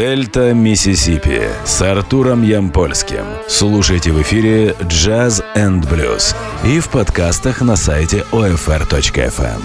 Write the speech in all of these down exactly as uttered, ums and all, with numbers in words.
Дельта Миссисипи с Артуром Ямпольским. Слушайте в эфире Jazz энд Blues и в подкастах на сайте о эф эр точка эф эм.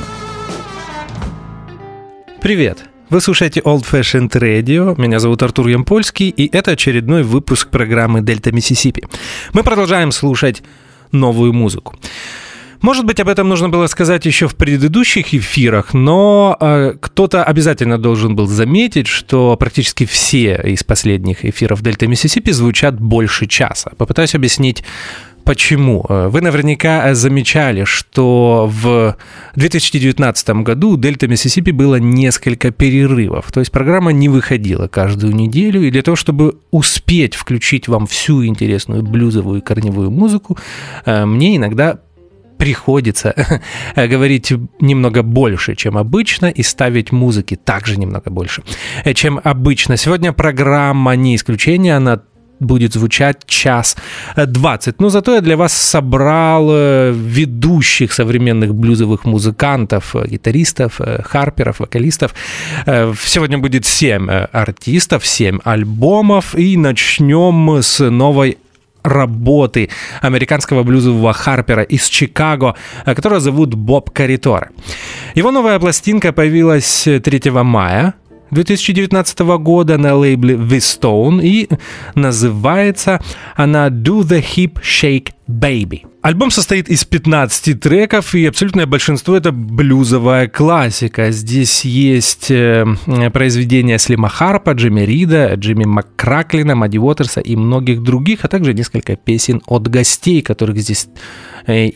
Привет! Вы слушаете Old Fashioned Radio, меня зовут Артур Ямпольский, и это очередной выпуск программы «Дельта Миссисипи». Мы продолжаем слушать новую музыку. Может быть, об этом нужно было сказать еще в предыдущих эфирах, но э, кто-то обязательно должен был заметить, что практически все из последних эфиров «Дельта Миссисипи» звучат больше часа. Попытаюсь объяснить, почему. Вы наверняка замечали, что в две тысячи девятнадцатом году у «Дельта Миссисипи» было несколько перерывов. То есть программа не выходила каждую неделю, и для того, чтобы успеть включить вам всю интересную блюзовую и корневую музыку, мне иногда приходится говорить немного больше, чем обычно, и ставить музыки также немного больше, чем обычно. Сегодня программа не исключение, она будет звучать час двадцать. Но зато я для вас собрал ведущих современных блюзовых музыкантов, гитаристов, харперов, вокалистов. Сегодня будет семь артистов, семь альбомов, и начнем с новой работы американского блюзового харпера из Чикаго, которого зовут Боб Карриторе. Его новая пластинка появилась третьего мая две тысячи девятнадцатого года на лейбле The Stone, и называется она Do the Hip Shake Baby. Альбом состоит из пятнадцати треков, и абсолютное большинство — это блюзовая классика. Здесь есть э, произведения Слима Харпа, Джимми Рида, Джимми Маккраклина, Мадди Уотерса и многих других, а также несколько песен от гостей, которых здесь э,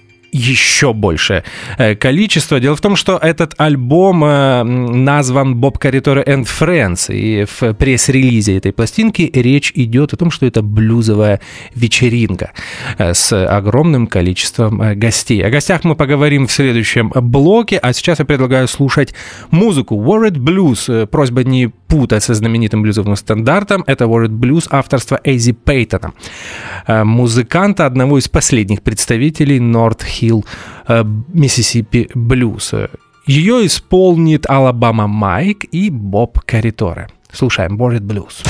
еще большее количество. Дело в том, что этот альбом назван Bob Carritore and Friends, и в пресс-релизе этой пластинки речь идет о том, что это блюзовая вечеринка с огромным количеством гостей. О гостях мы поговорим в следующем блоке, а сейчас я предлагаю слушать музыку. Worried Blues. Просьба не путать со знаменитым блюзовым стандартом. Это Worried Blues авторства Эйзи Пейтона, музыканта, одного из последних представителей North Hill Mississippi Blues. Ее исполнит Алабама Майк и Боб Карриторе. Слушаем Worried Blues.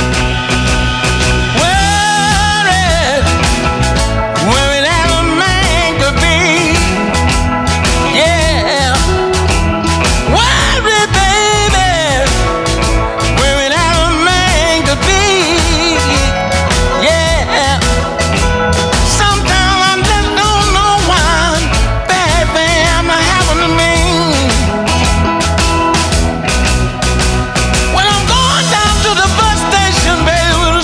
When I'm going down to the bus station, baby,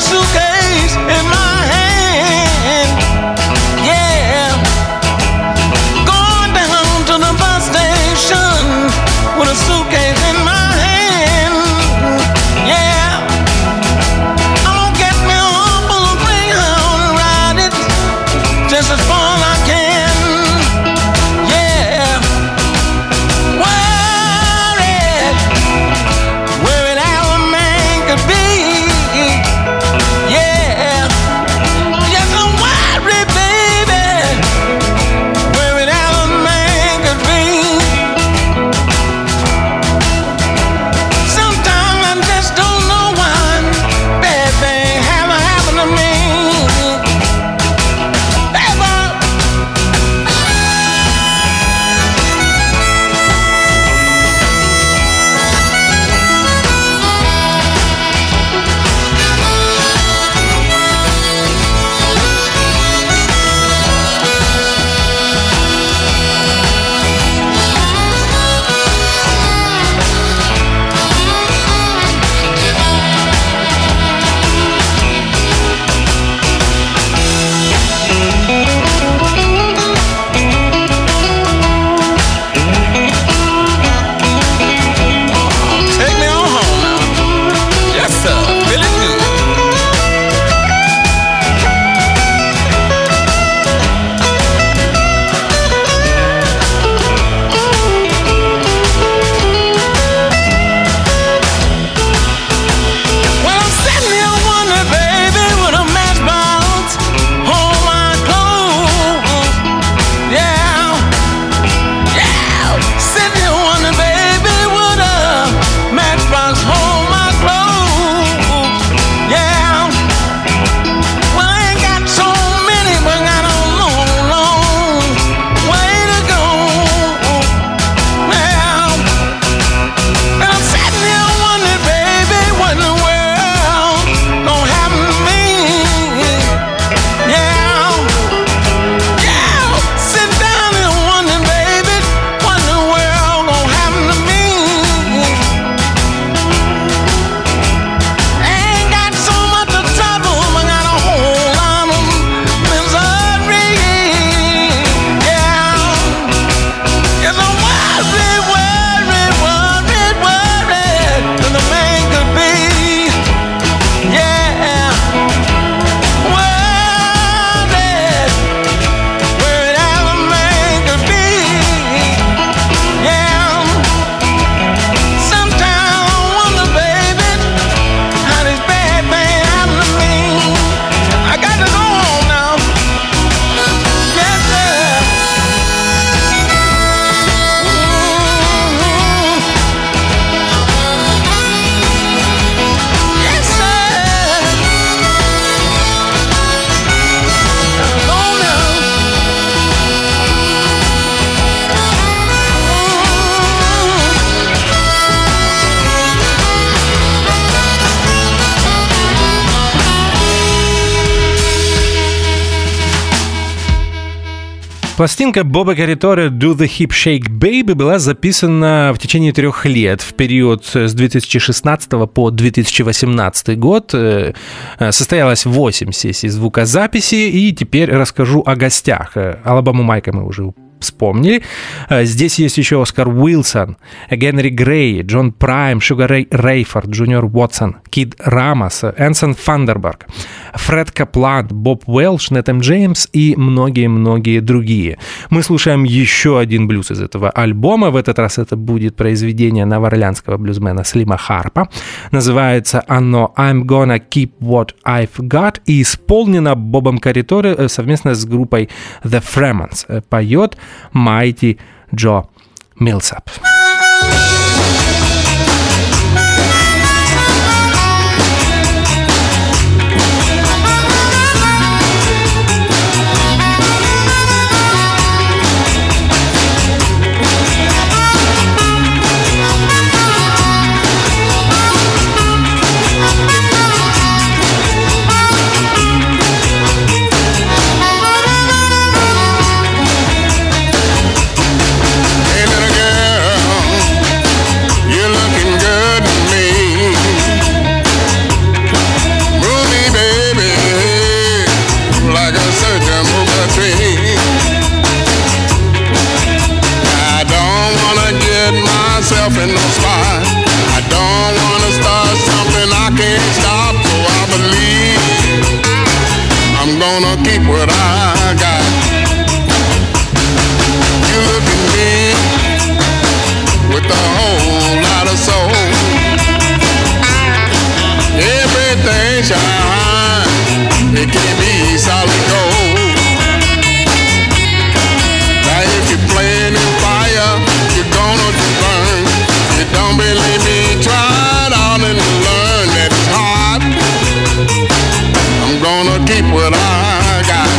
Пластинка Боба Каритори «Do the Hip Shake Baby» была записана в течение трех лет, в период с две тысячи шестнадцатого по две тысячи восемнадцатый год. Состоялось восемь сессий звукозаписи, и теперь расскажу о гостях. Алабаму Майка мы уже вспомнили. Здесь есть еще Оскар Уилсон, Генри Грей, Джон Прайм, Шугар Рэй Рейфорд, Джуниор Уотсон, Кид Рамос, Энсон Фандерберг, Фред Каплан, Боб Уэлш, Нэтэм Джеймс и многие-многие другие. Мы слушаем еще один блюз из этого альбома. В этот раз это будет произведение новоорлеанского блюзмена Слима Харпа. Называется оно «I'm gonna keep what I've got» и исполнено Бобом Каритори совместно с группой The Fremons. Поет Mighty Джо Милсап. In no spot. I don't wanna start something I can't stop, so I believe I'm gonna keep what I got. You look at me with a whole lot of soul. Everything shine, it can't be solid gold. Now if you're playing in fire, you're gonna burn. Don't believe me, try it out and learn that it's hard. I'm gonna keep what I got.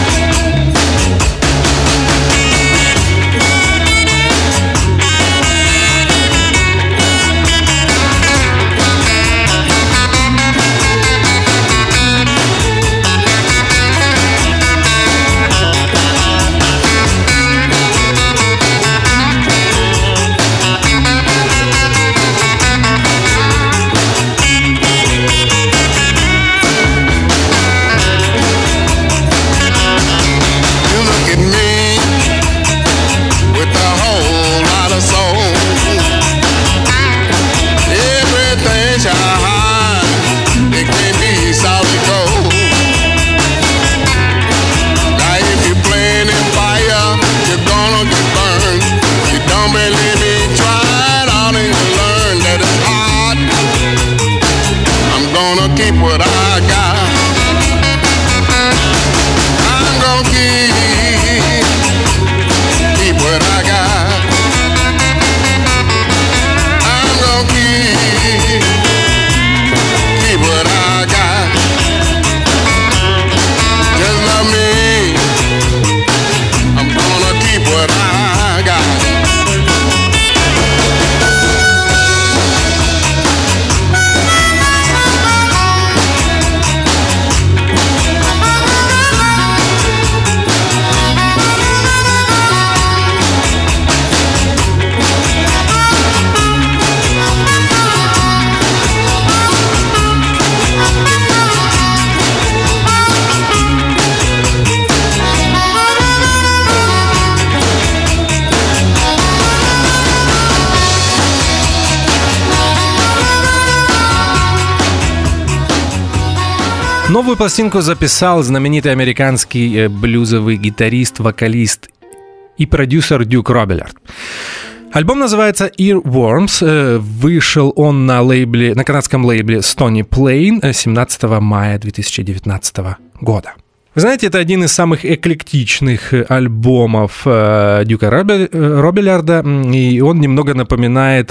Новую пластинку записал знаменитый американский блюзовый гитарист, вокалист и продюсер Дюк Робилярд. Альбом называется Earworms. Вышел он на лейбле, на канадском лейбле Stony Plain семнадцатого мая две тысячи девятнадцатого года. Вы знаете, это один из самых эклектичных альбомов Дюка Робилярда, и он немного напоминает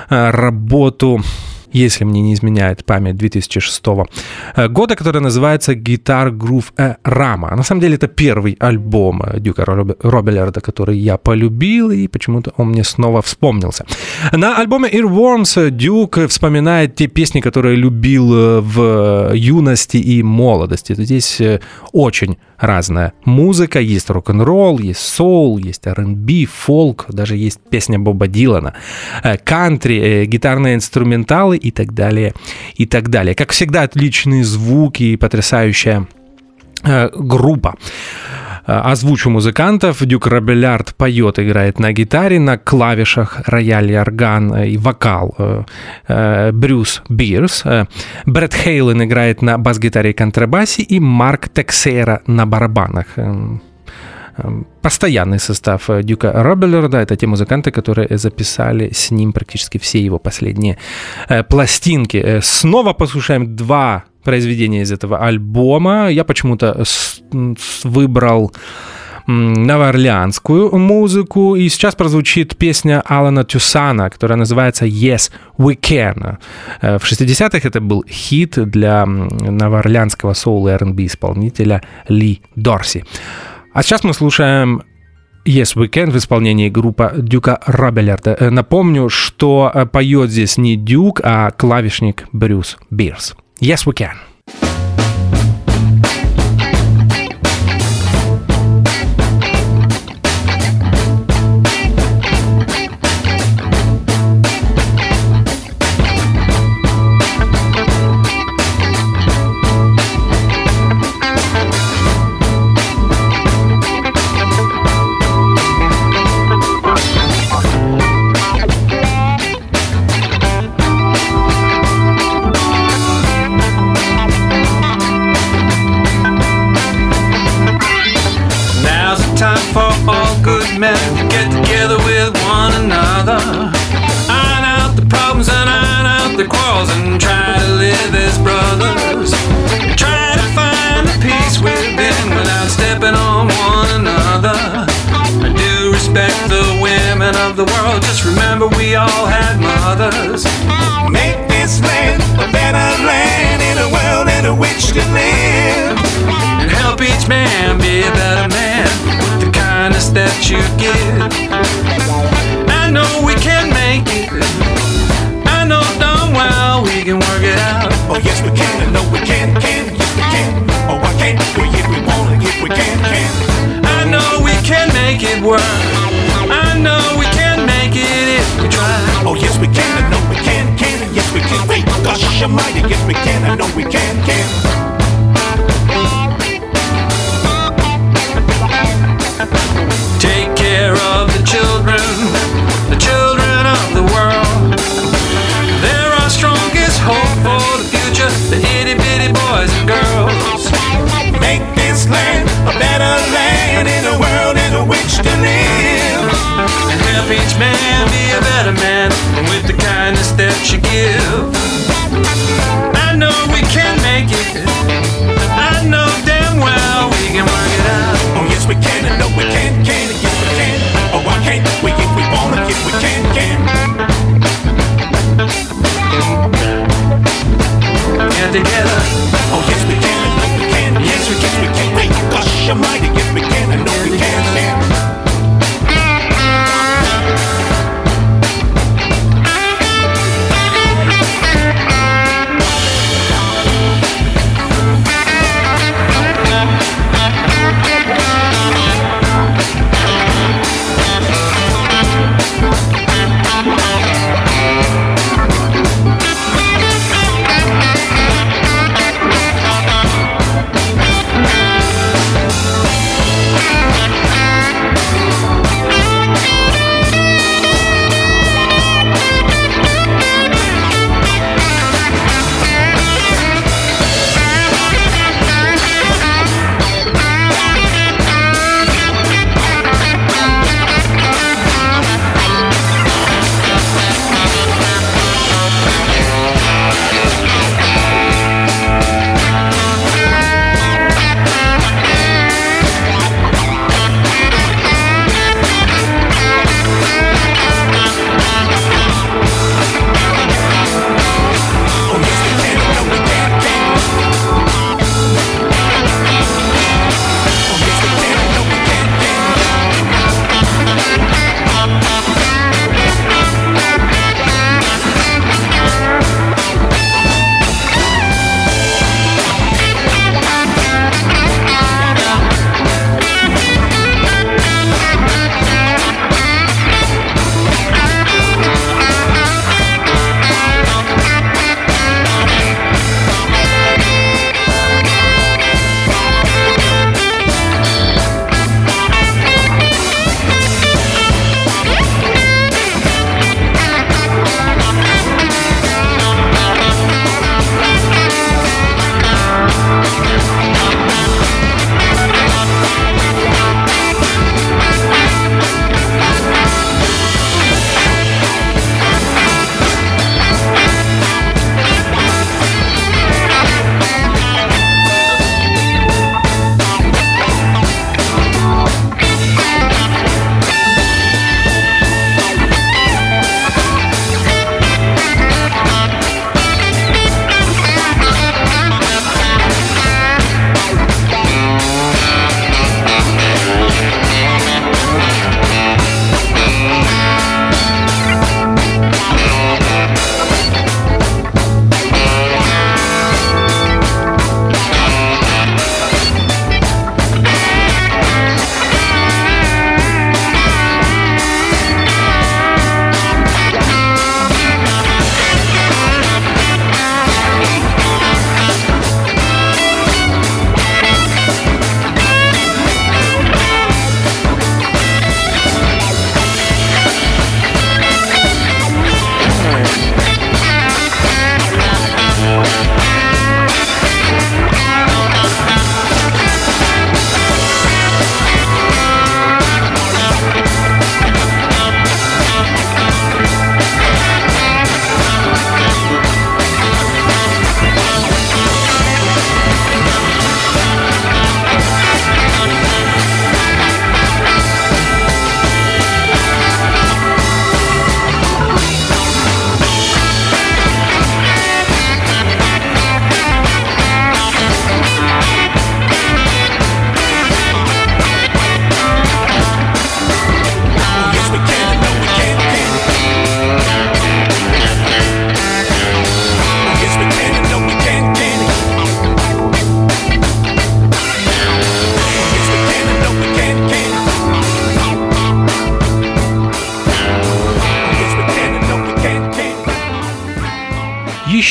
работу, если мне не изменяет память, две тысячи шестого года, который называется Guitar Groove Rama. На самом деле это первый альбом Дюка Робилярда, который я полюбил, и почему-то он мне снова вспомнился. На альбоме Earworms Дюк вспоминает те песни, которые любил в юности и молодости. Здесь очень разная музыка. Есть рок-н-ролл, есть соул, есть ар энд би, фолк, даже есть песня Боба Дилана, кантри, гитарные инструменталы и так далее, и так далее. Как всегда, отличные звуки и потрясающая группа. Озвучу музыкантов. Дюк Робиллярд поет, играет на гитаре, на клавишах, рояль, орган и вокал Брюс Бирс. Брэд Хейлен играет на бас-гитаре и контрабасе, и Марк Тексейра на барабанах. Постоянный состав Дюка Робиллярда — это те музыканты, которые записали с ним практически все его последние пластинки. Снова послушаем два произведения из этого альбома. Я почему-то выбрал новоорлеанскую музыку, и сейчас прозвучит песня Алана Тюсана, которая называется «Yes, We Can». В шестидесятых это был хит для новоорлеанского соул и ар энд би исполнителя Ли Дорси. А сейчас мы слушаем «Yes, We Can» в исполнении группы Дюка Робиллярда. Напомню, что поет здесь не Дюк, а клавишник Брюс Бирс. «Yes, We Can». Men to get together with one another, iron out the problems and iron out the quarrels, and try to live as brothers. Try to find the peace within without stepping on one another. I do respect the women of the world, just remember we all had mothers. Make this land a better land in a world in which to live, and help each man be a better man with the kindness that you give. I know we can make it, I know darn well we can work it out. Oh yes we can, I know we can, can, yes we can. Oh I can't do it if we want it, if we can, can. I know we can make it work, I know we can make it if we try. Oh yes we can, I know we can, can, and yes we can. Wait, gosh almighty, yes we can, I know we can, can. Take care of the children, the children of the world. They're our strongest hope for the future, the itty bitty boys and girls. Make this land a better land in a world in which to live, and help each man be a better man with the kindness that you give. I know we can make it, I know damn well we can work it out. Oh yes we can, I know we can, can, and yes we can. Oh why can't we if we wanna, if we can, can. Get together. Oh yes we can, I know we can, yes we can, we can. Wait, gosh almighty, yes we can, I know we can, can.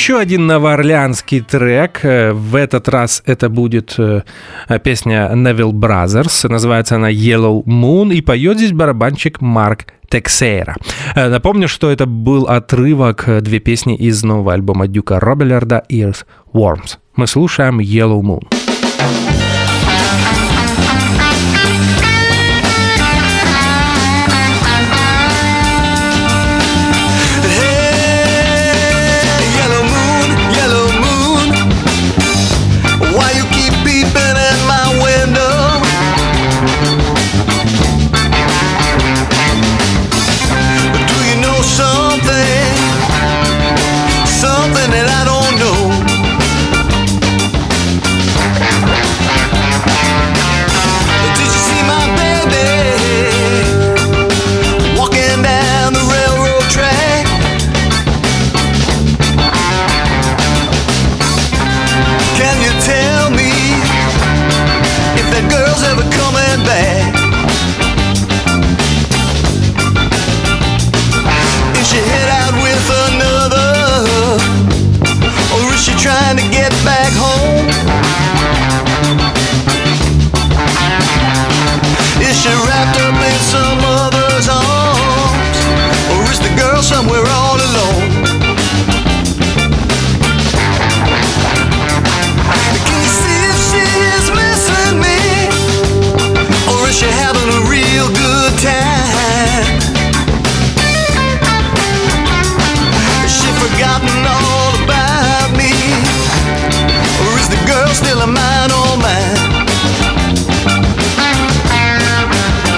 Еще один новоорлеанский трек. В этот раз это будет песня Neville Brothers. Называется она Yellow Moon. И поет здесь барабанщик Марк Тексейра. Напомню, что это был отрывок, две песни из нового альбома Дюка Робилларда Earthworms. Мы слушаем Yellow Moon. Still a mine, oh man.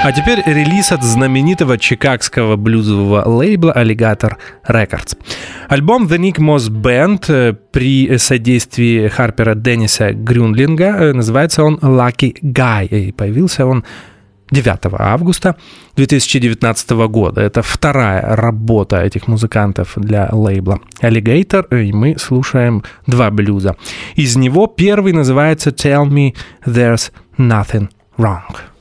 А теперь релиз от знаменитого чикагского блюзового лейбла Alligator Records. Альбом The Nick Moss Band при содействии Харпера Денниса Грюнлинга, называется он Lucky Guy, и появился он девятого августа две тысячи девятнадцатого года. Это вторая работа этих музыкантов для лейбла Alligator, и мы слушаем два блюза. Из него первый называется Tell Me There's Nothing Wrong.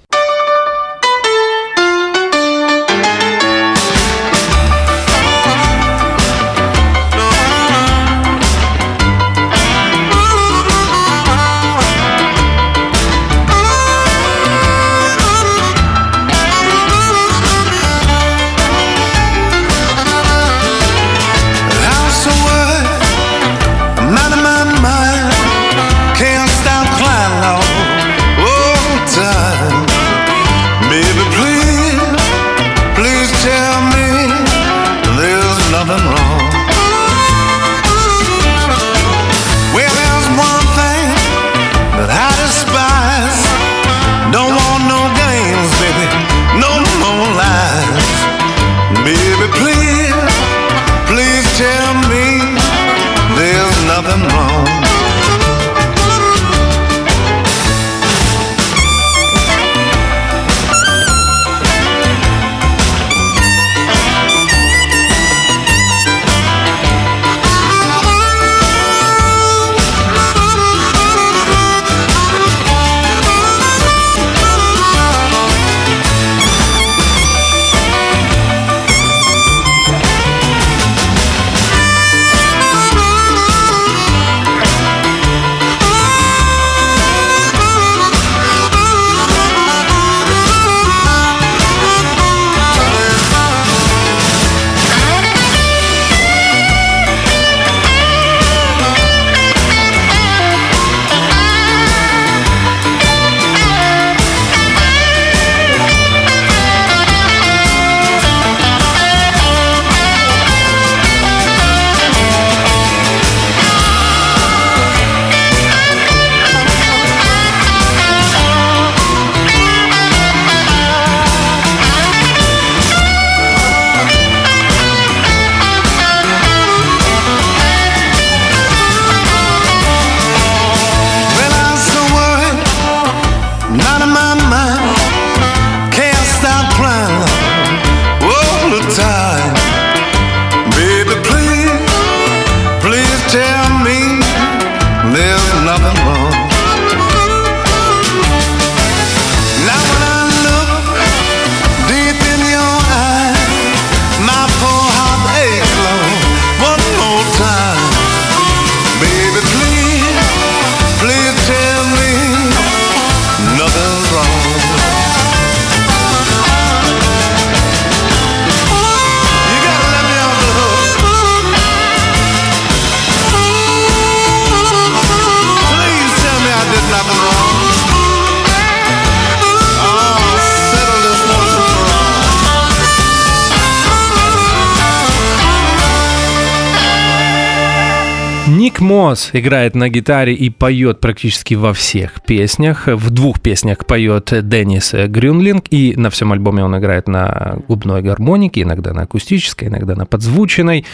Ник Мосс играет на гитаре и поет практически во всех песнях. В двух песнях поет Деннис Грюнлинг, и на всем альбоме он играет на губной гармонике, иногда на акустической, иногда на подзвученной.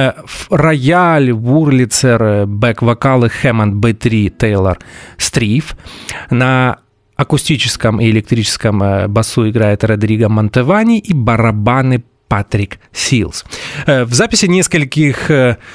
Рояль, Вурлицер, бэк-вокалы Хэммонд би три, Тейлор Стриф. На акустическом и электрическом басу играет Родриго Монтевани и барабаны Патрик Силс. В записи нескольких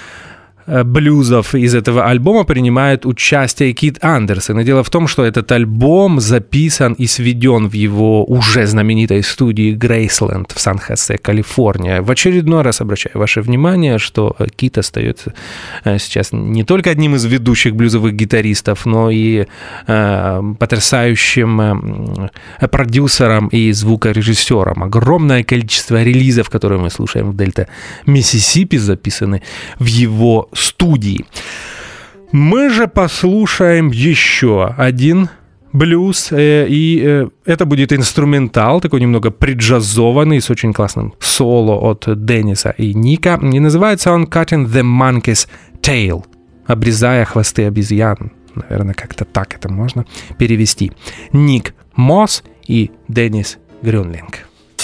блюзов из этого альбома принимает участие Кит Андерсон. И дело в том, что этот альбом записан и сведен в его уже знаменитой студии Грейсленд в Сан-Хосе, Калифорния. В очередной раз обращаю ваше внимание, что Кит остается сейчас не только одним из ведущих блюзовых гитаристов, но и э, потрясающим э, продюсером и звукорежиссером. Огромное количество релизов, которые мы слушаем в Дельта Миссисипи, записаны в его студии. Мы же послушаем еще один блюз, и это будет инструментал, такой немного приджазованный, с очень классным соло от Денниса и Ника, и называется он «Cutting the Monkey's Tail», обрезая хвосты обезьян. Наверное, как-то так это можно перевести. Ник Мосс и Деннис Grünling.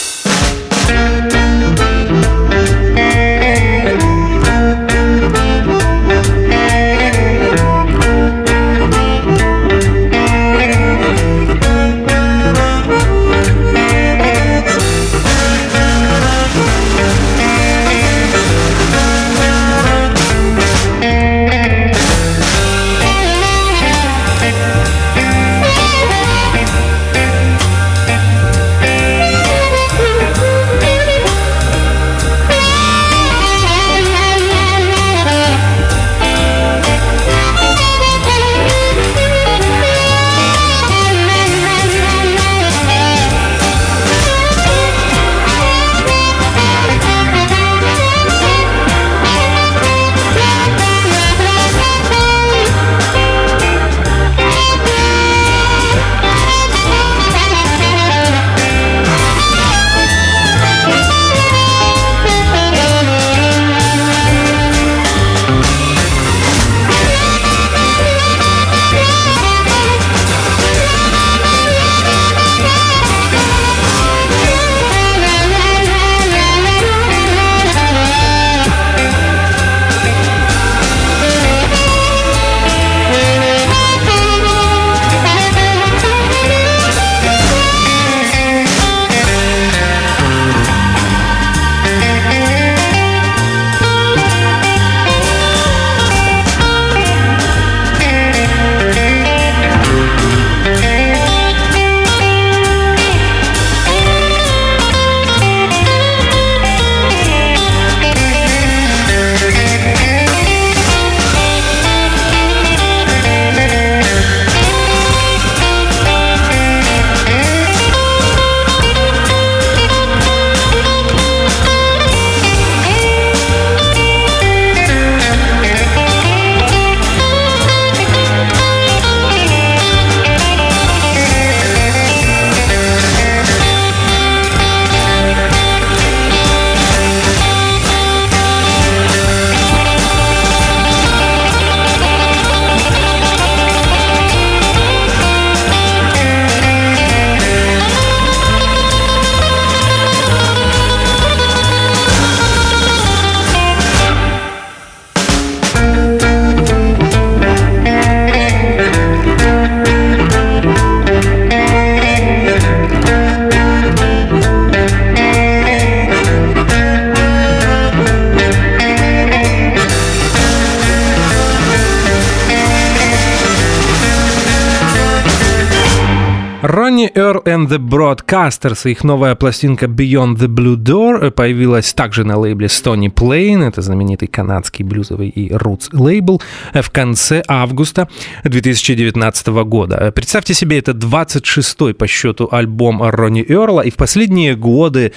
Ronnie Earl and the Broadcasters, их новая пластинка Beyond the Blue Door появилась также на лейбле Stony Plain, это знаменитый канадский блюзовый и roots лейбл, в конце августа две тысячи девятнадцатого года. Представьте себе, это двадцать шестой по счету альбом Ронни Эрла, и в последние годы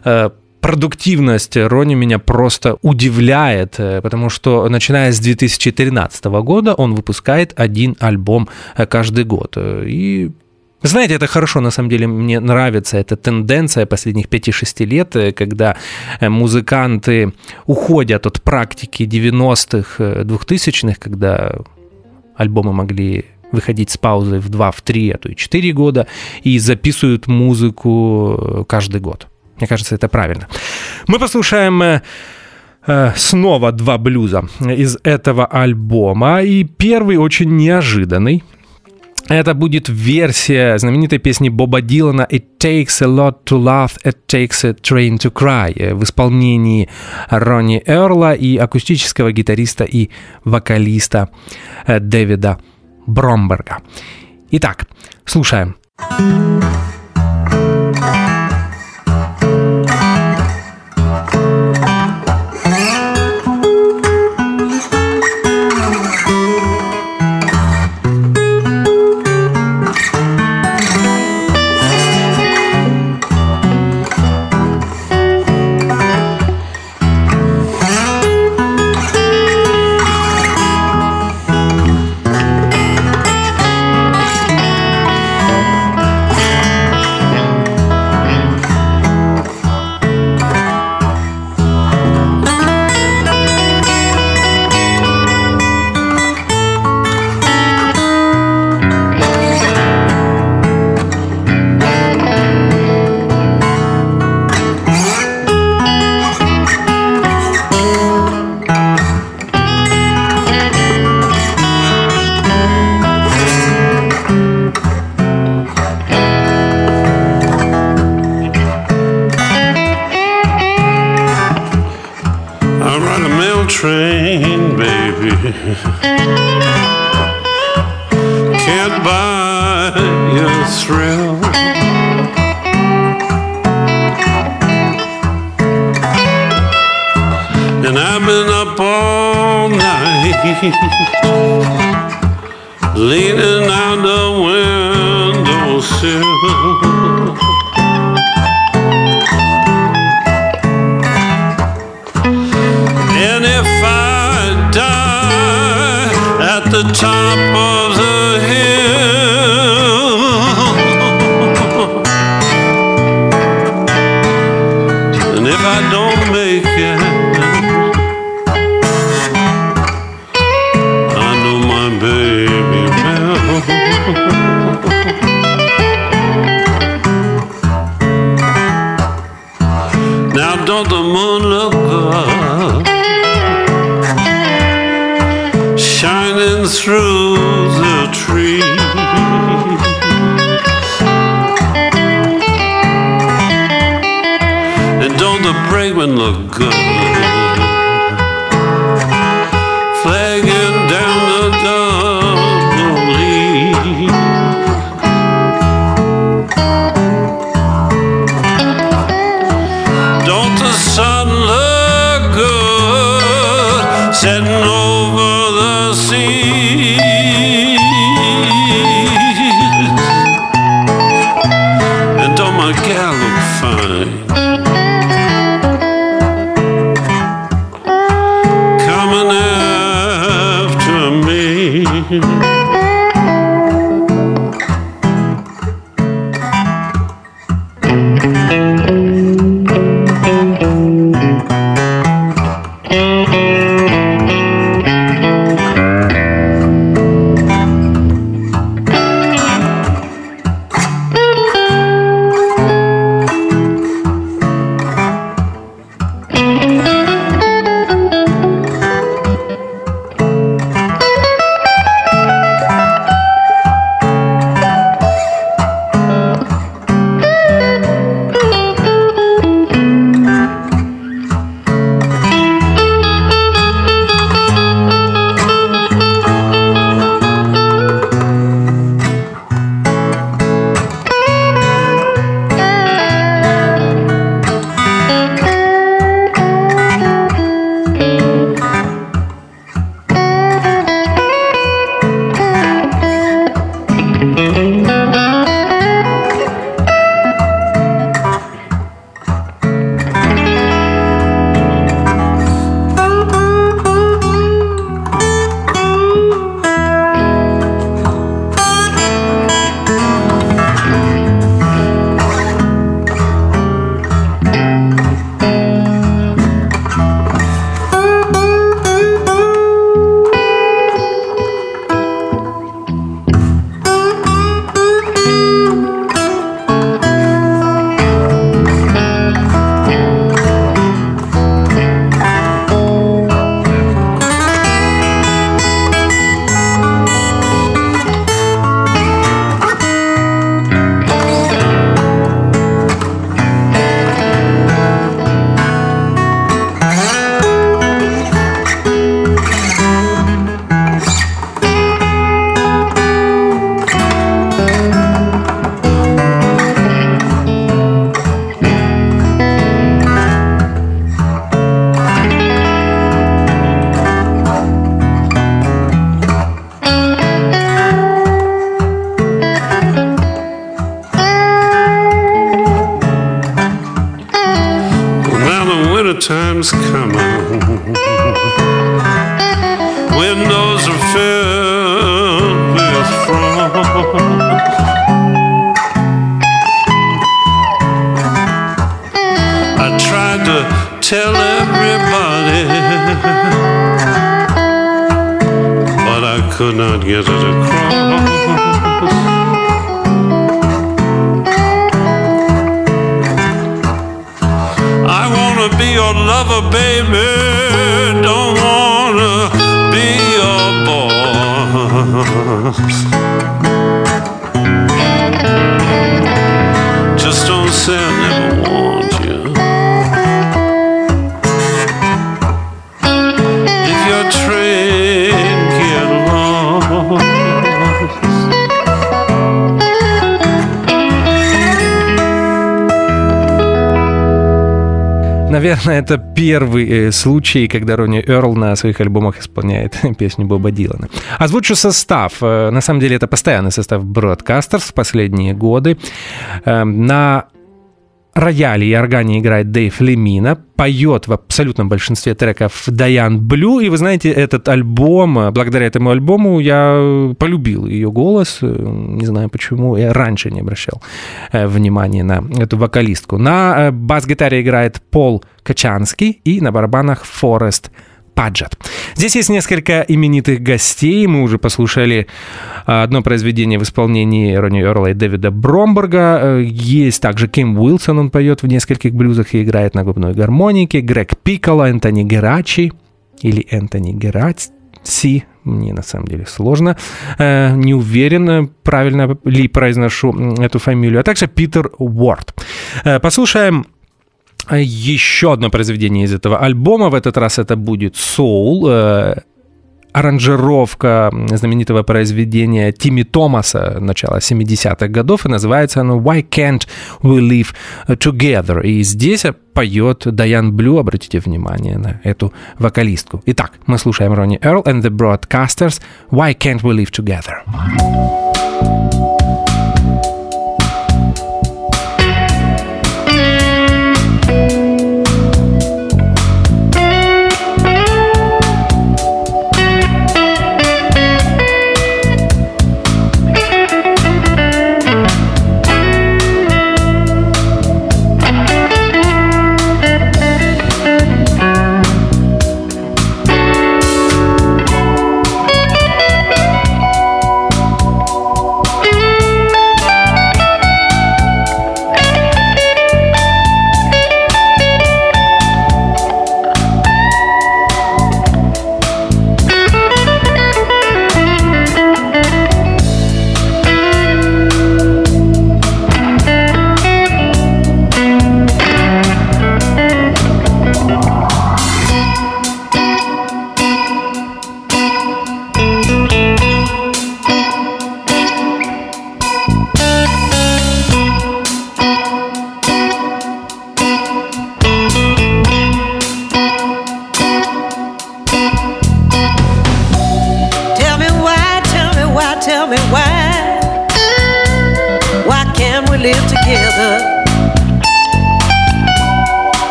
продуктивность Ронни меня просто удивляет, потому что, начиная с две тысячи тринадцатого года, он выпускает один альбом каждый год. И знаете, это хорошо, на самом деле, мне нравится эта тенденция последних пяти-шести лет, когда музыканты уходят от практики девяностых, двухтысячных, когда альбомы могли выходить с паузой в два, в три, а то и четыре года, и записывают музыку каждый год. Мне кажется, это правильно. Мы послушаем э, снова два блюза из этого альбома, и первый очень неожиданный. Это будет версия знаменитой песни Боба Дилана «It takes a lot to love, it takes a train to cry» в исполнении Ронни Эрла и акустического гитариста и вокалиста Дэвида Бромберга. Итак, слушаем. Thank train, baby, can't buy your thrill. And I've been up all night, leaning out the windowsill. And if I die at the top of the hill, and if I don't make it, now don't the moon look good, shining through the trees? And don't the brakeman look good, flagging down the double E? Don't the sun look good setting over the seas? And don't my gal look fine, coming after me? Time's coming, windows are filled with frost. I tried to tell everybody, but I could not get it across. Be your lover, baby, don't wanna be your boss. Just don't say I never want you. Наверное, это первый случай, когда Ронни Эрл на своих альбомах исполняет песню Боба Дилана. Озвучу состав. На самом деле, это постоянный состав Broadcasters в последние годы. На рояле и органе играет Дэйв Лемина, поет в абсолютном большинстве треков Дайан Блю, и вы знаете, этот альбом, благодаря этому альбому я полюбил ее голос, не знаю почему, я раньше не обращал внимания на эту вокалистку. На бас-гитаре играет Пол Качанский и на барабанах Форест Паджет. Здесь есть несколько именитых гостей. Мы уже послушали одно произведение в исполнении Ронни Эрла и Дэвида Бромберга. Есть также Ким Уилсон, он поет в нескольких блюзах и играет на губной гармонике. Грег Пикколо, Энтони Герачи или Энтони Гераци. Мне на самом деле сложно. Не уверен, правильно ли произношу эту фамилию. А также Питер Уорд. Послушаем еще одно произведение из этого альбома. В этот раз это будет соул. Э, аранжировка знаменитого произведения Тимми Томаса начала семидесятых годов. И называется оно «Why Can't We Live Together?». И здесь поет Дайан Блю. Обратите внимание на эту вокалистку. Итак, мы слушаем Ронни Эрл and the Broadcasters «Why Can't We Live Together?».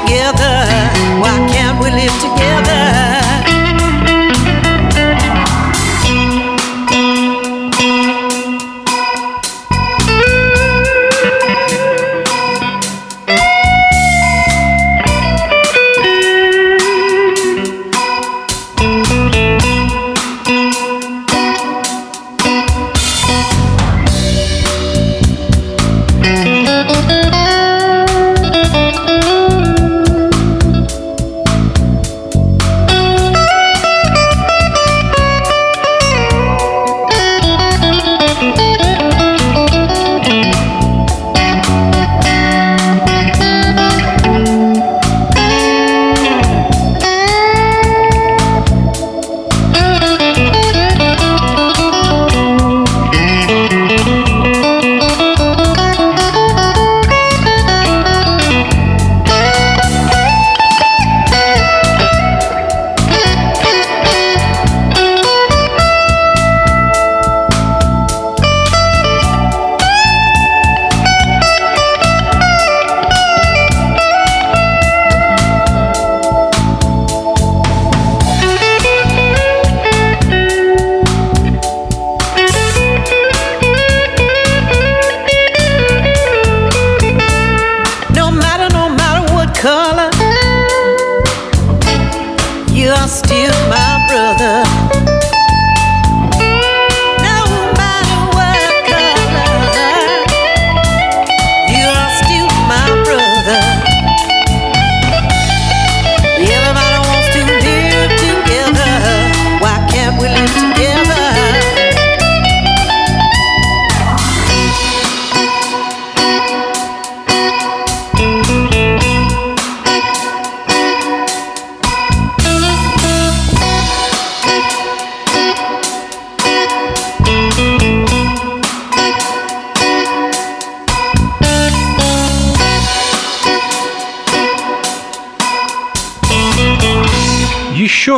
Together.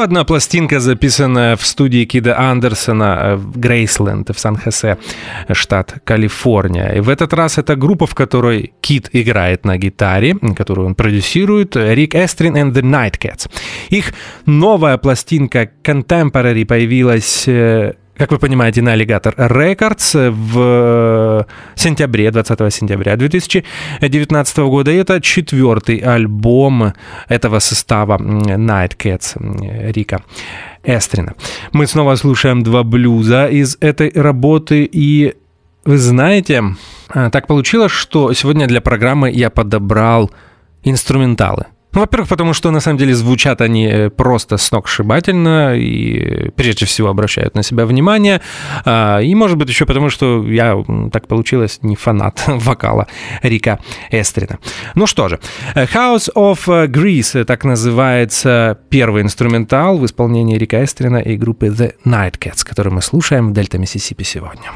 одна пластинка, записанная в студии Кида Андерсона в Грейсленд, в Сан-Хосе, штат Калифорния. И в этот раз это группа, в которой Кид играет на гитаре, которую он продюсирует, Рик Эстрин and the Nightcats. Их новая пластинка Contemporary появилась, как вы понимаете, на Alligator Records в сентябре, двадцатого сентября две тысячи девятнадцатого года. И это четвертый альбом этого состава Nightcats Рика Эстрина. Мы снова слушаем два блюза из этой работы. И вы знаете, так получилось, что сегодня для программы я подобрал инструменталы. Ну, во-первых, потому что, на самом деле, звучат они просто сногсшибательно и, прежде всего, обращают на себя внимание. И, может быть, еще потому, что я, так получилось, не фанат вокала Рика Эстрина. Ну что же, House of Grease, так называется первый инструментал в исполнении Рика Эстрина и группы The Nightcats, который мы слушаем в Дельта Миссисипи сегодня.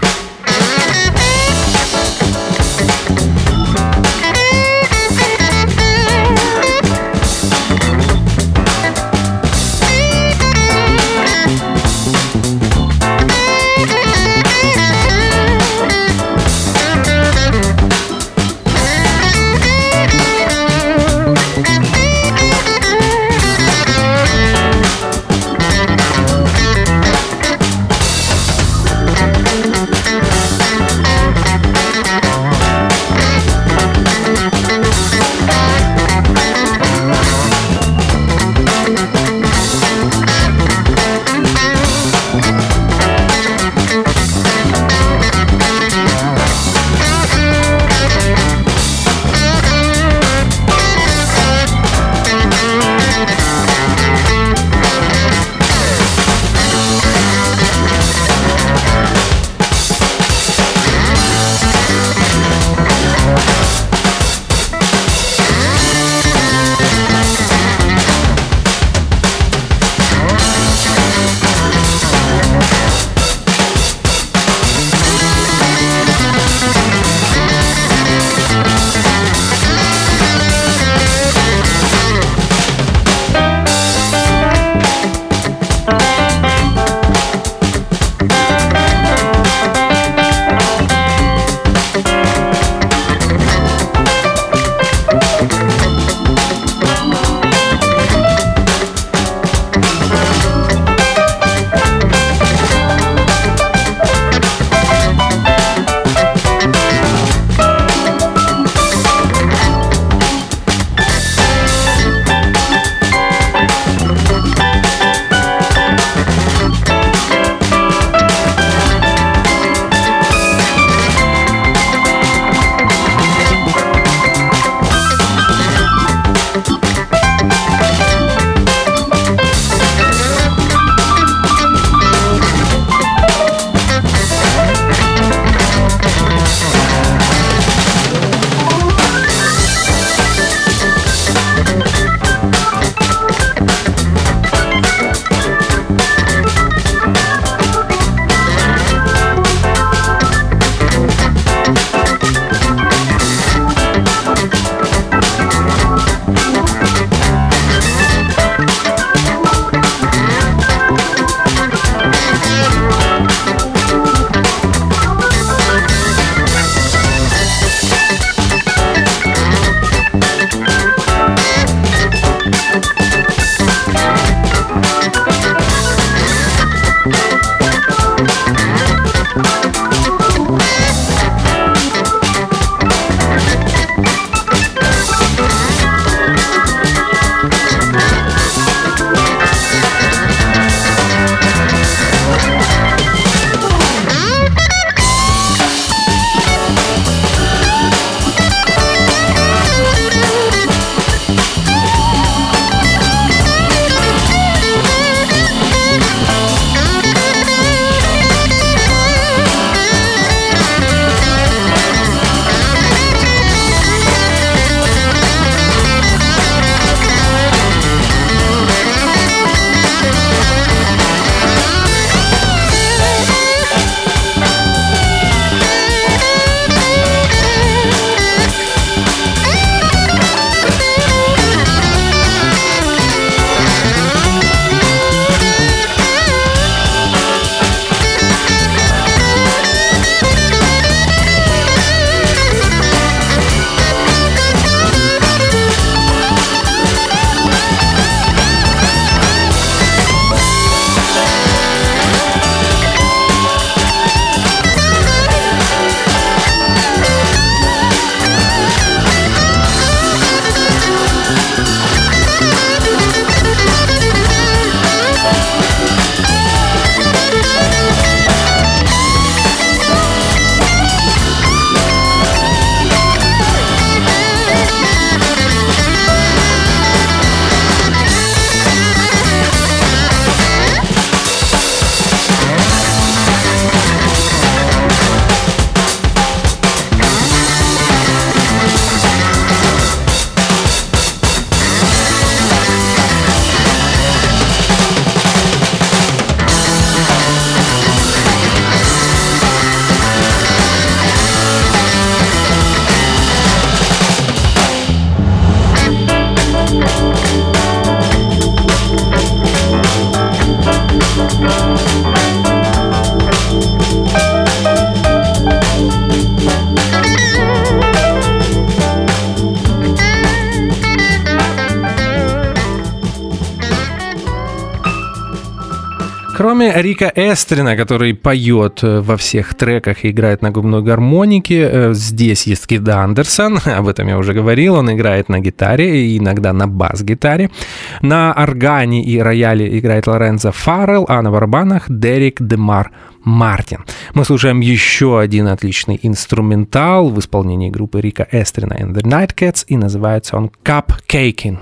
Кроме Рика Эстрина, который поет во всех треках и играет на губной гармонике, здесь есть Кид Андерсон, об этом я уже говорил, он играет на гитаре и иногда на бас-гитаре. На органе и рояле играет Лоренцо Фаррелл, а на барабанах Дерек Демар Мартин. Мы слушаем еще один отличный инструментал в исполнении группы Рика Эстрина and the Nightcats, и называется он «Cupcaking».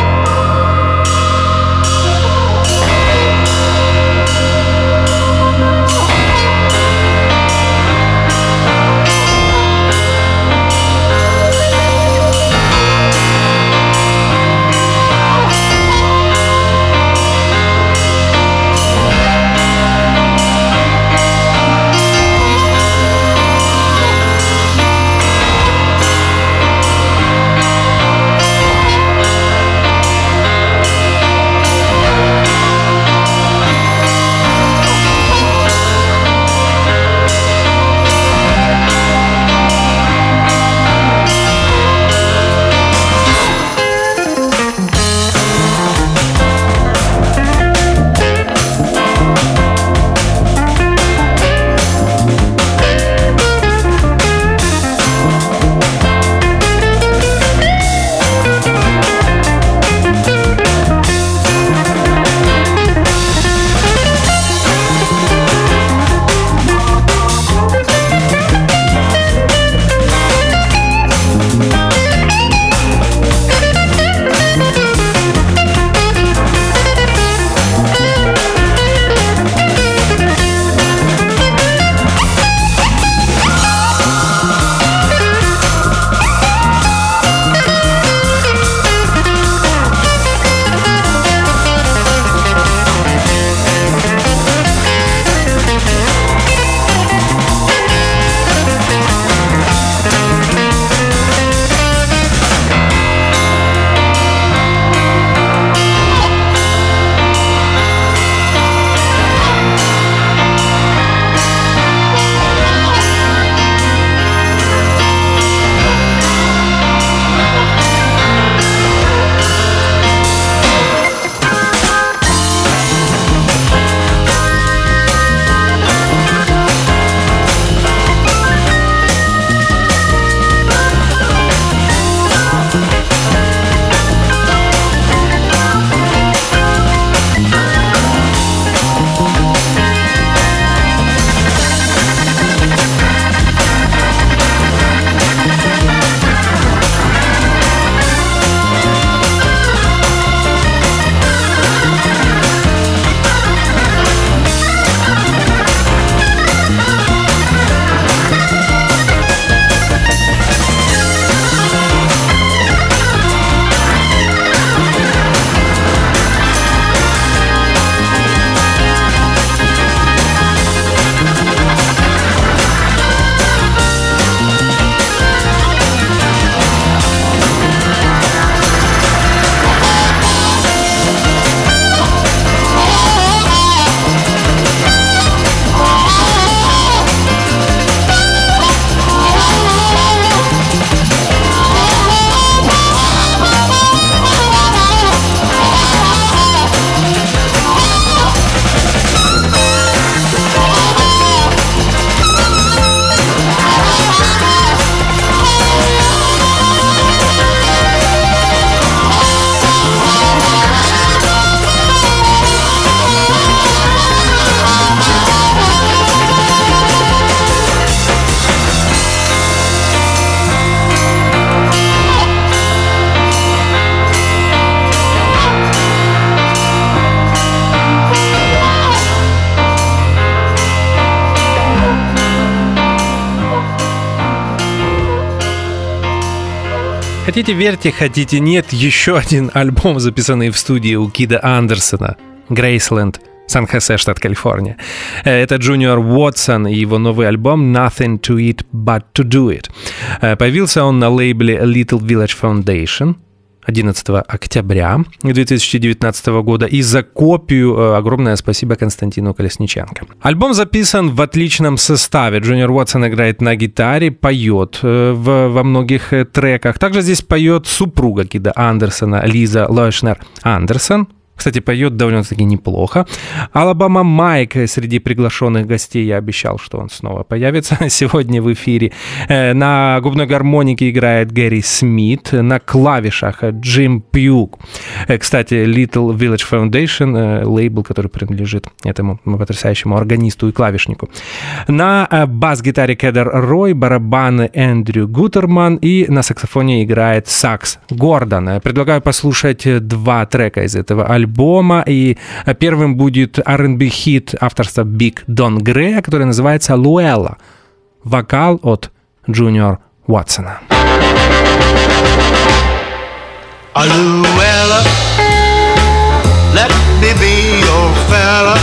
Хотите верьте, хотите нет, еще один альбом, записанный в студии у Кида Андерсона, Грейсленд, Сан-Хосе, штат Калифорния. Это Джуниор Уотсон и его новый альбом «Nothing to Eat But to Do It». Появился он на лейбле Little Village Foundation одиннадцатого октября две тысячи девятнадцатого года. И за копию огромное спасибо Константину Колесниченко. Альбом записан в отличном составе. Джуниор Уотсон играет на гитаре, поет в, во многих треках. Также здесь поет супруга Кида Андерсона Лиза Лойшнер Андерсон. Кстати, поет довольно-таки неплохо. Алабама Майк среди приглашенных гостей. Я обещал, что он снова появится сегодня в эфире. На губной гармонике играет Гэри Смит. На клавишах Джим Пьюг. Кстати, Little Village Foundation, лейбл, который принадлежит этому потрясающему органисту и клавишнику. На бас-гитаре Кедер Рой, барабаны Эндрю Гутерман и на саксофоне играет сакс Гордон. Предлагаю послушать два трека из этого альбома. альбома, и первым будет ар энд би-хит авторства Биг Дон Грея, который называется «Луэлла». Вокал от Джуниор Уотсона. Luella, let me be your fella.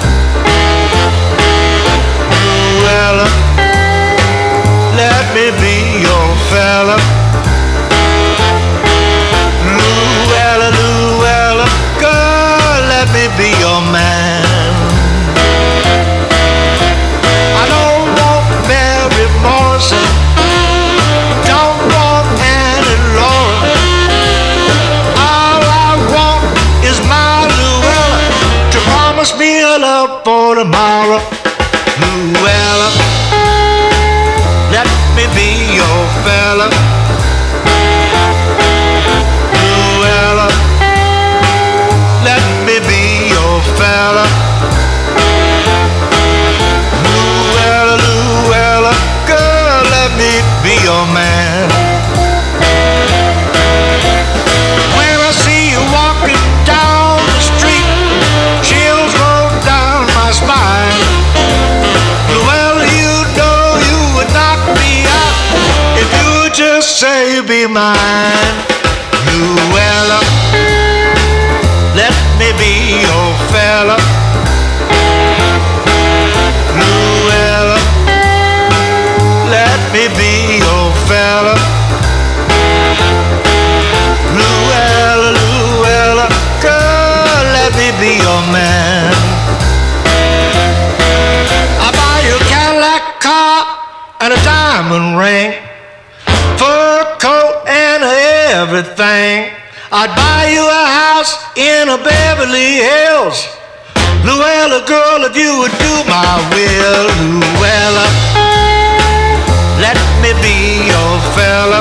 Luella, let me be your fella. Luella, Luella, girl, let me be your man. I don't want Mary Morrison, don't want Annie Lauren. All I want is my Luella to promise me a love for tomorrow. Luella, let me be your fella. Luella, let me be your fella. Luella, Luella, girl, let me be your man. When I see you walking down the street, chills roll down my spine. Luella, you know you would knock me out if you would just say you'd be mine. Luella, let me be your fella. Luella, let me be your fella. Luella, Luella, girl, let me be your man. I buy you a Cadillac car and a diamond ring, fur coat and everything. I'd buy you a house in a Beverly Hills. Luella, girl, if you would do my will. Luella, let me be your fella.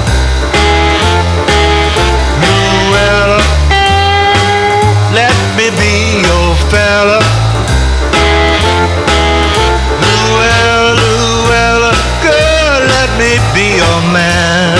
Luella, let me be your fella. Luella, Luella, girl, let me be your man.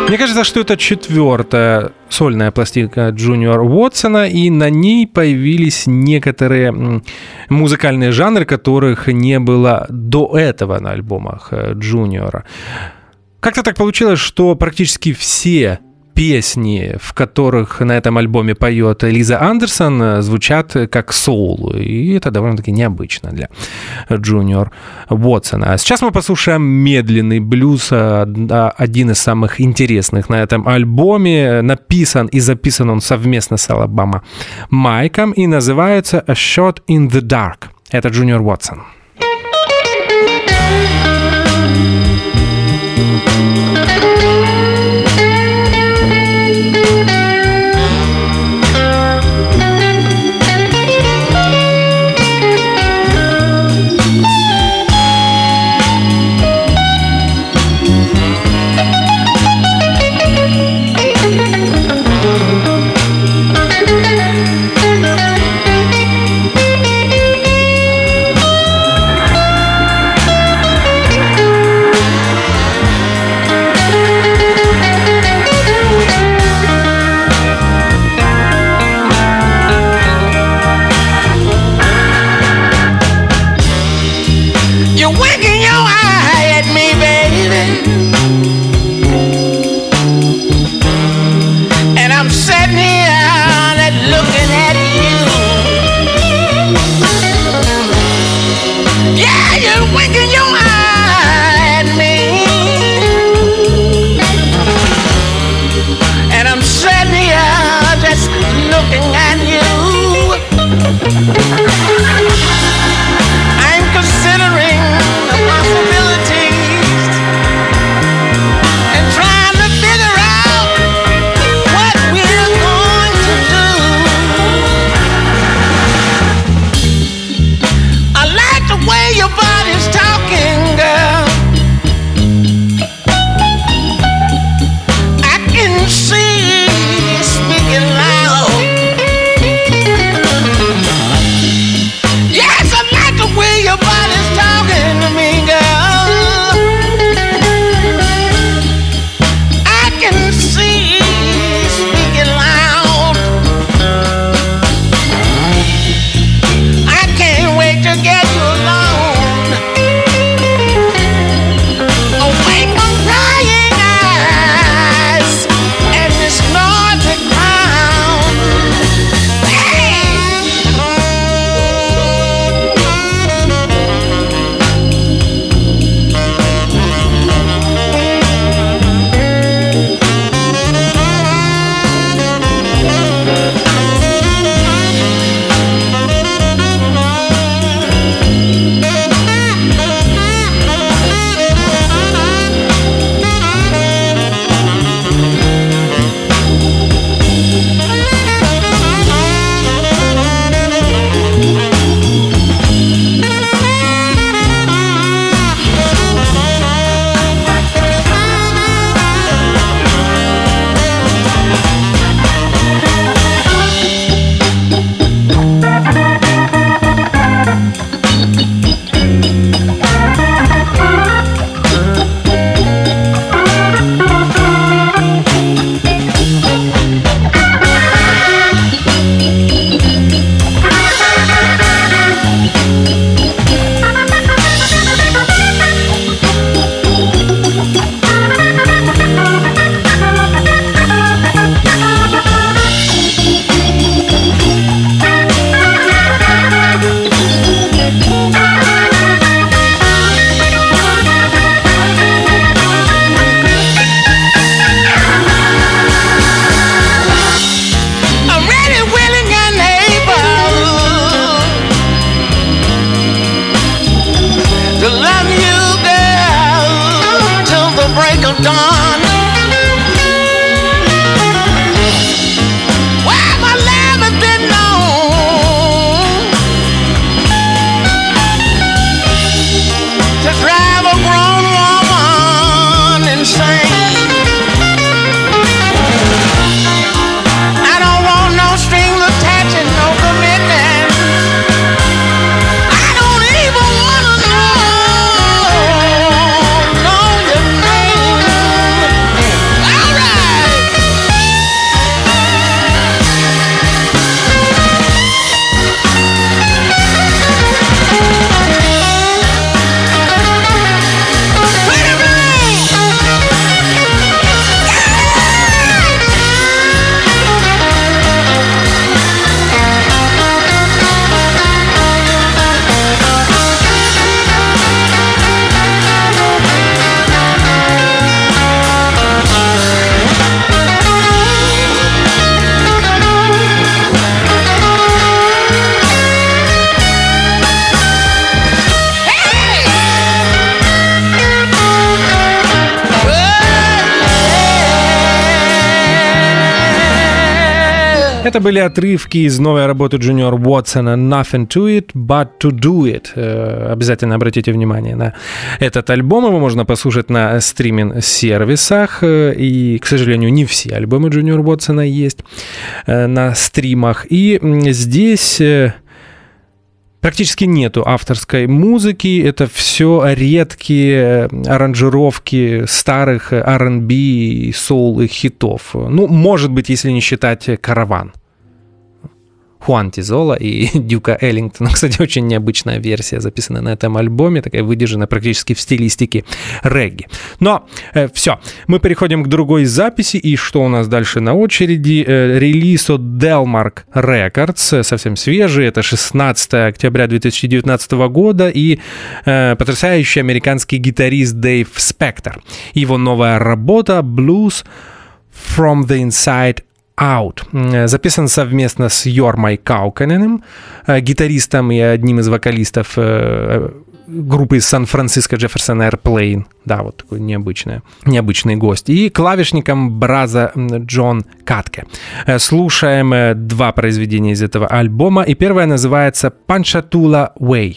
Мне кажется, что это четвертая сольная пластинка Джуниора Уотсона, и на ней появились некоторые музыкальные жанры, которых не было до этого на альбомах Джуниора. Как-то так получилось, что практически все песни, в которых на этом альбоме поет Лиза Андерсон, звучат как соул, и это довольно-таки необычно для Джуниор Уотсона. А сейчас мы послушаем медленный блюз, один из самых интересных на этом альбоме. Написан и записан он совместно с Алабама Майком и называется «A Shot in the Dark». Это Джуниор Уотсон. I'm considering the possibilities Это были отрывки из новой работы Junior Watsona «Nothing to it but to do it». Обязательно обратите внимание на этот альбом. Его можно послушать на стриминг-сервисах. И, к сожалению, не все альбомы Junior Watsona есть на стримах. И здесь практически нету авторской музыки. Это все редкие аранжировки старых ар энд би, соул и хитов. Ну, может быть, если не считать «Караван». Хуан Тизола и Дюка Эллингтона. Кстати, очень необычная версия записана на этом альбоме, такая выдержана практически в стилистике регги. Но э, все, мы переходим к другой записи, и что у нас дальше на очереди? Э, релиз от Delmark Records, совсем свежий, это шестнадцатого октября две тысячи девятнадцатого года, и э, потрясающий американский гитарист Дэйв Спектор. Его новая работа «Blues from the Inside Out» записан совместно с Йормой Кауканеном, гитаристом и одним из вокалистов группы из Сан-Франциско Джефферсон Airplane. Да, вот такой необычный, необычный гость. И клавишником Браза Джон Катке. Слушаем два произведения из этого альбома. И первое называется «Panchatoula Way».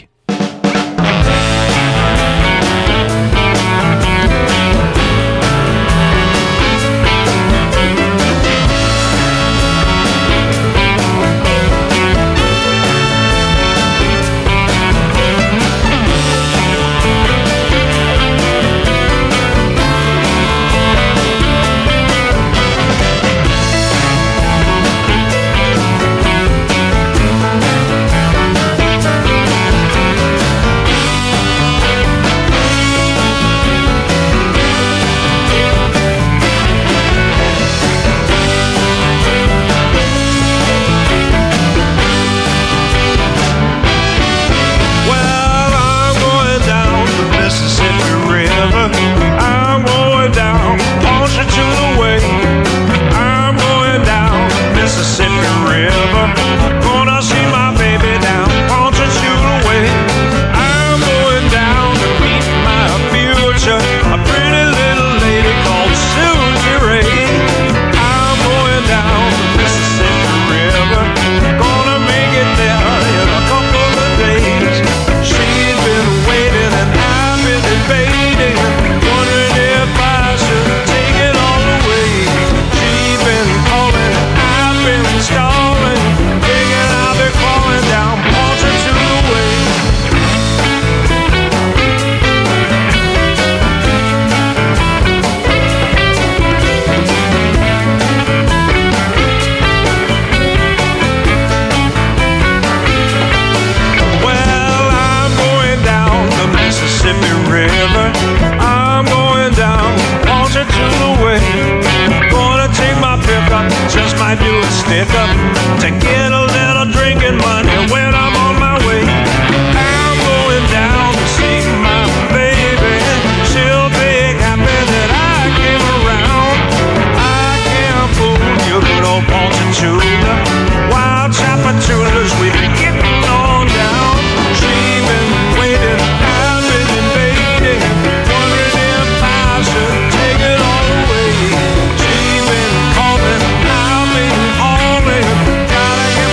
Gotta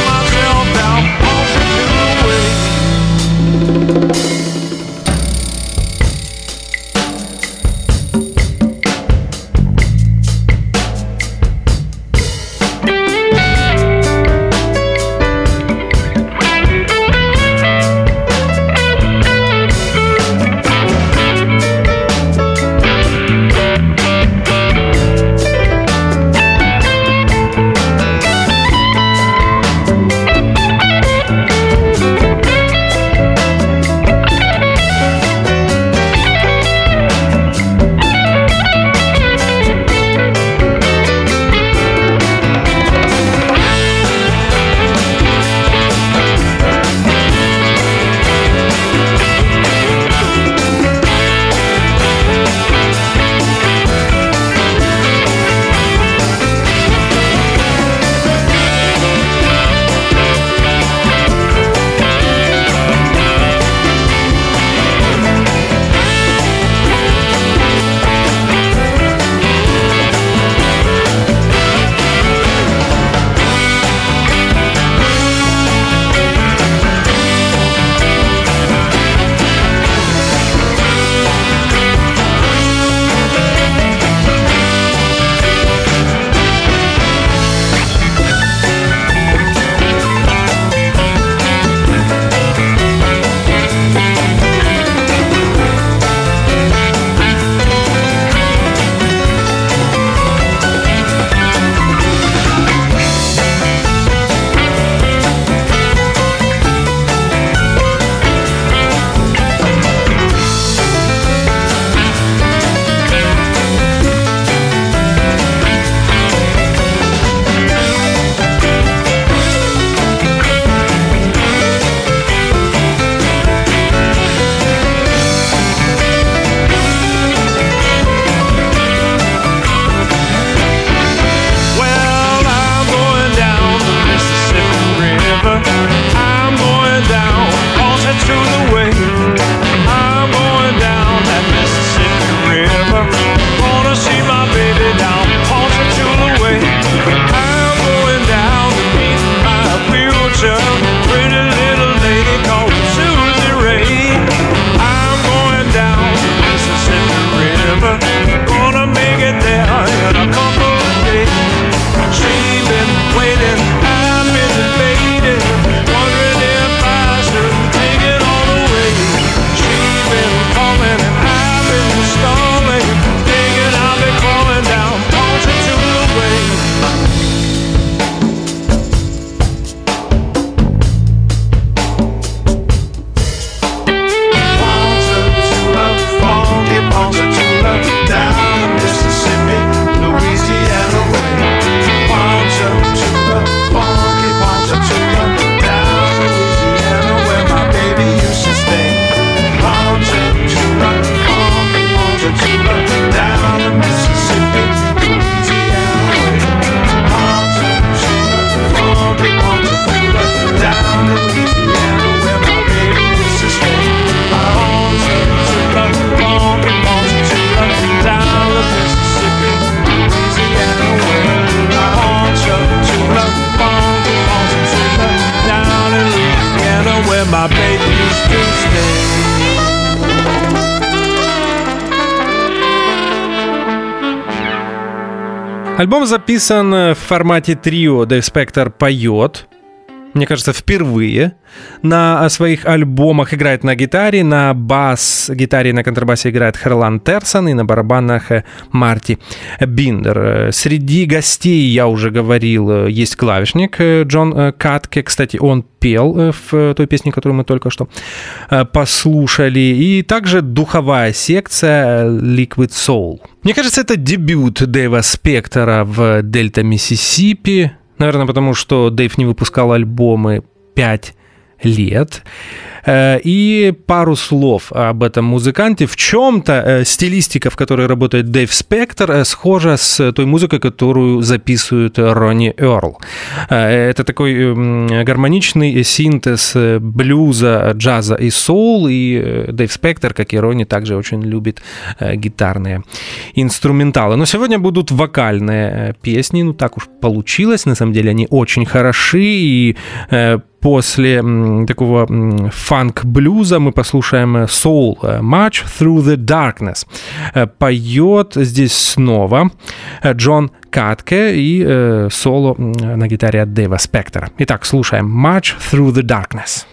Альбом записан в формате трио. Дэйв Спектор поет, мне кажется, впервые на своих альбомах. Играет на гитаре, на бас-гитаре и на контрабасе играет Херлан Терсон, и на барабанах Марти Биндер. Среди гостей, я уже говорил, есть клавишник Джон Катке. Кстати, он пел в той песне, которую мы только что послушали. И также духовая секция Liquid Soul. Мне кажется, это дебют Дэйва Спектора в Дельта Миссисипи. Наверное, потому что Дэйв не выпускал альбомы пять лет. И пару слов об этом музыканте. В чем-то стилистика, в которой работает Дэйв Спектор, схожа с той музыкой, которую записывает Ронни Эрл. Это такой гармоничный синтез блюза, джаза и соул. И Дэйв Спектор, как и Ронни, также очень любит гитарные инструменталы. Но сегодня будут вокальные песни. Ну, так уж получилось. На самом деле они очень хороши. И после такого фанк-блюза мы послушаем Soul March Through the Darkness. Поет здесь снова Джон Катке и соло на гитаре от Дэйва Спектора. Итак, слушаем March Through the Darkness.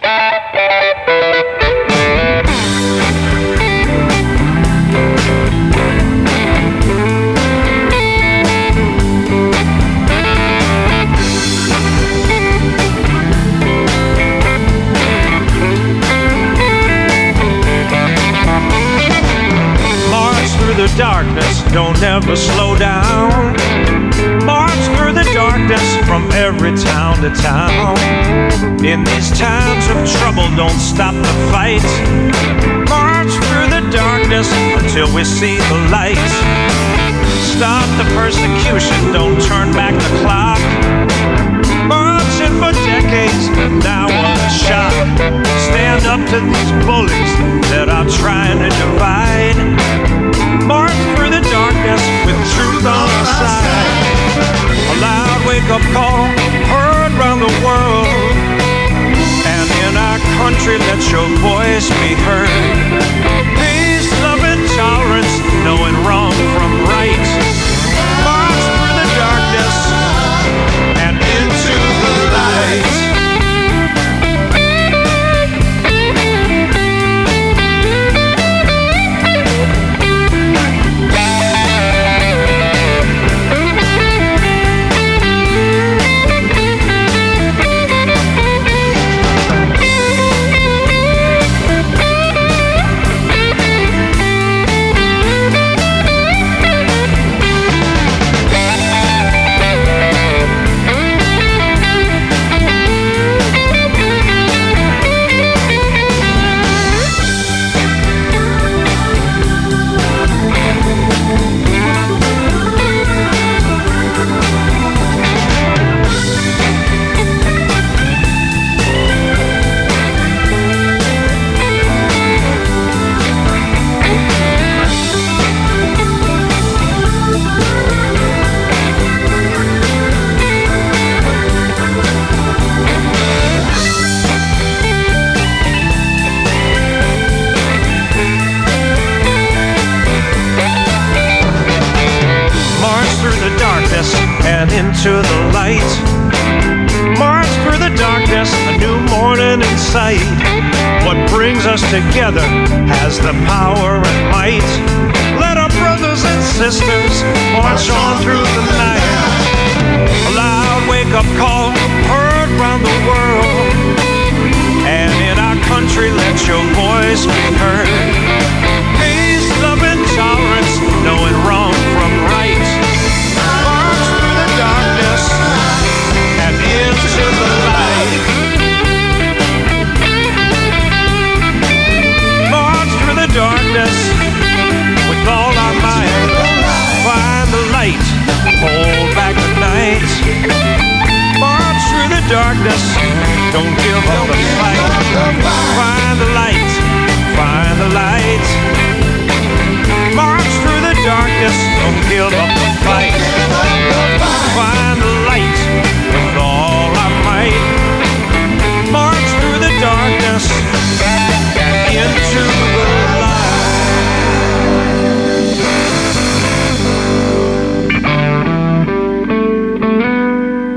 The darkness, don't ever slow down. March through the darkness from every town to town. In these times of trouble, don't stop the fight. March through the darkness until we see the light. Stop the persecution, don't turn back the clock. Marching for decades, now what a shock. Stand up to these bullies that are trying to divide. March through the darkness with truth on our side. A loud wake-up call heard round the world. And in our country, let your voice be heard. Peace, love, and tolerance, knowing wrong from right. March through the darkness and into the light. And into the light. March through the darkness, a new morning in sight. What brings us together has the power and might. Let our brothers and sisters march on through the night. A loud wake-up call heard round the world. And in our country, let your voice be heard. Peace, love, and tolerance, knowing wrong from right. And into the light. March through the darkness with all our might. Find the light, hold back the night. March through the darkness, don't give up the fight. Find the light, find the light. March through the darkness, don't give up the fight. Find the light with all our might. March through the darkness and into the light.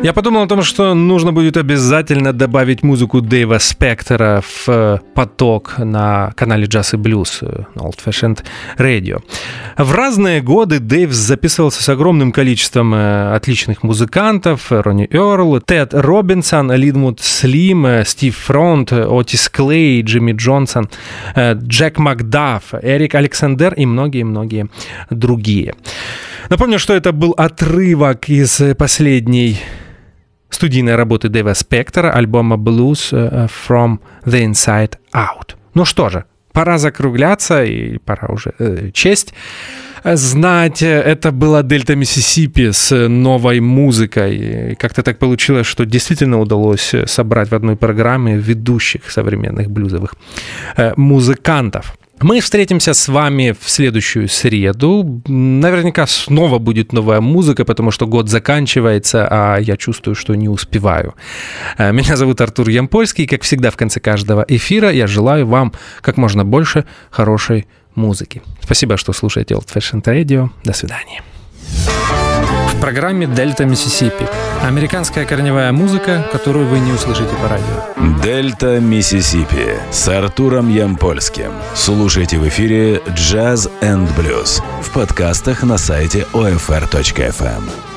Я подумал о том, что нужно будет обязательно добавить музыку Дэйва Спектора в поток на канале Jazz и Blues на Old Fashioned Radio. В разные годы Дэйв записывался с огромным количеством отличных музыкантов: Ронни Эрл, Тед Робинсон, Линвуд Слим, Стив Фронт, Отис Клей, Джимми Джонсон, Джек Макдаф, Эрик Александер и многие-многие другие. Напомню, что это был отрывок из последней студийной работы Дэйва Спектора, альбома Blues from the Inside Out. Ну что же, пора закругляться, и пора уже э, честь знать. Это была Дельта Миссисипи с новой музыкой. И как-то так получилось, что действительно удалось собрать в одной программе ведущих современных блюзовых э, музыкантов. Мы встретимся с вами в следующую среду. Наверняка снова будет новая музыка, потому что год заканчивается, а я чувствую, что не успеваю. Меня зовут Артур Ямпольский, и, как всегда, в конце каждого эфира я желаю вам как можно больше хорошей музыки. Спасибо, что слушаете Old Fashioned Radio. До свидания. В программе «Дельта Миссисипи» американская корневая музыка, которую вы не услышите по радио. «Дельта Миссисипи» с Артуром Ямпольским. Слушайте в эфире Jazz and Blues в подкастах на сайте о эф эр точка эф эм.